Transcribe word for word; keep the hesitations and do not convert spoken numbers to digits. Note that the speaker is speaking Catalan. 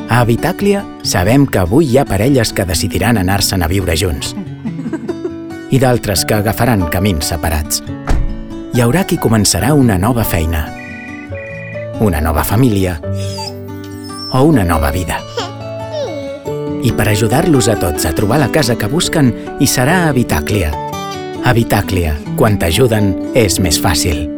A Habitàclia sabem que avui hi ha parelles que decidiran anar-se'n a viure junts i d'altres que agafaran camins separats. Hi haurà qui començarà una nova feina, una nova família o una nova vida. I per ajudar-los a tots a trobar la casa que busquen hi serà Habitàclia. Habitàclia, quan t'ajuden és més fàcil.